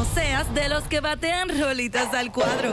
no seas de los que batean rolitas al cuadro.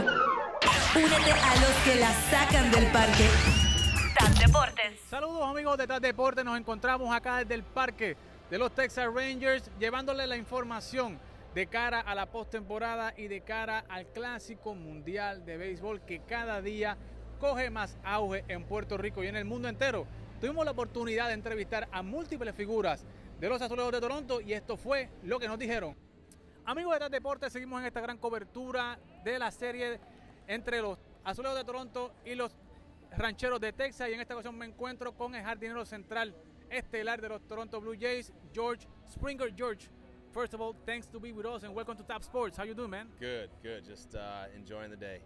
Únete a los que la sacan del parque. TAS Deportes. Saludos amigos de TAS Deportes, nos encontramos acá desde el parque de los Texas Rangers llevándole la información de cara a la postemporada y de cara al Clásico Mundial de Béisbol que cada día coge más auge en Puerto Rico y en el mundo entero. Tuvimos la oportunidad de entrevistar a múltiples figuras de los Azulejos de Toronto y esto fue lo que nos dijeron. Amigos de TAS Deportes, seguimos en esta gran cobertura de la serie entre los Azulejos de Toronto y los Rancheros de Texas, y en esta ocasión me encuentro con el jardinero central estelar de los Toronto Blue Jays, George Springer. George, first of all, thanks to be with us and welcome to TAP Sports. How you doing, man? Good. Just enjoying the day.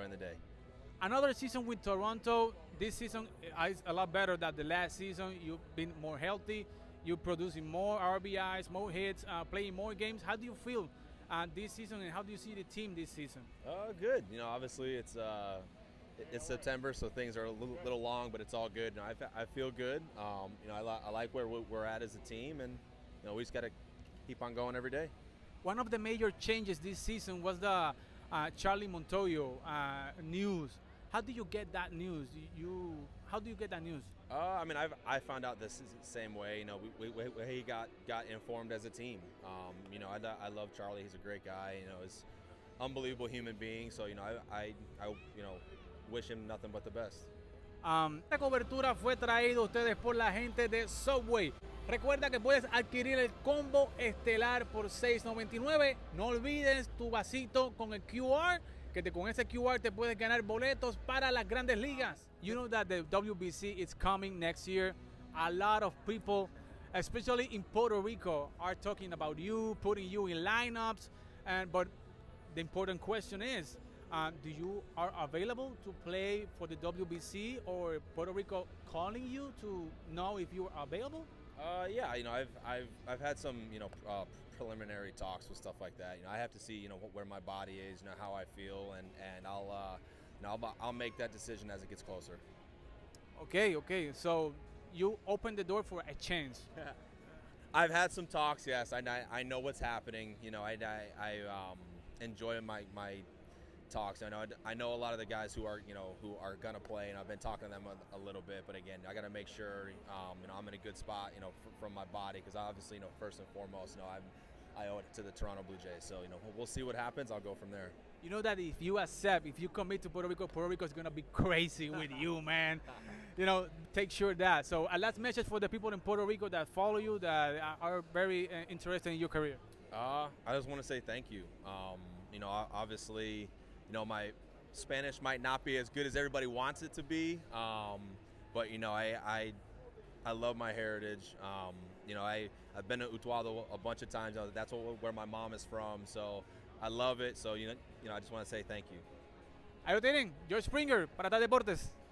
Another season with Toronto. This season is a lot better than the last season. You've been more healthy. You're producing more RBIs, more hits, playing more games. How do you feel this season, and how do you see the team this season? Good. You know, obviously it's September, so things are a little long, but it's all good. You know, I feel good. You know, I like where we're at as a team, and you know, we just got to keep on going every day. One of the major changes this season was the Charlie Montoyo news. How do you get that news? How do you get that news? I mean, I found out this is the same way. You know, he got informed as a team. You know, I love Charlie. He's a great guy. You know, he's an unbelievable human being. So you know, I you know, wish him nothing but the best. Esta cobertura fue traída a ustedes por la gente de Subway. Recuerda que puedes adquirir el combo estelar por $6.99. No olvides tu vasito con el QR, que con ese QR te puedes ganar boletos para las grandes ligas. You know that the WBC is coming next year. A lot of people, especially in Puerto Rico, are talking about you, putting you in lineups. But the important question is, do you are available to play for the WBC, or Puerto Rico calling you to know if you are available? Yeah, you know, I've had some, you know, preliminary talks with stuff like that. You know, I have to see, you know, where my body is, you know, how I feel, and I'll make that decision as it gets closer. Okay. So you open the door for a change. I've had some talks. Yes, I know what's happening. You know, I enjoy my talks. I know a lot of the guys who are gonna play, and I've been talking to them a little bit. But again, I got to make sure you know, I'm in a good spot, you know, from my body, because obviously, you know, first and foremost, you know, I owe it to the Toronto Blue Jays. So you know, we'll see what happens. I'll go from there. You know that if you commit to Puerto Rico is gonna be crazy with you, man. You know, take sure that. So a last message for the people in Puerto Rico that follow you, that are very interested in your career. I just want to say thank you. You know, obviously, you know, my Spanish might not be as good as everybody wants it to be, but you know, I love my heritage. You know, I've been to Utuado a bunch of times. That's where my mom is from, so I love it. So you know, I just want to say thank you. Ahí lo tienen, George Springer para TAS Deportes.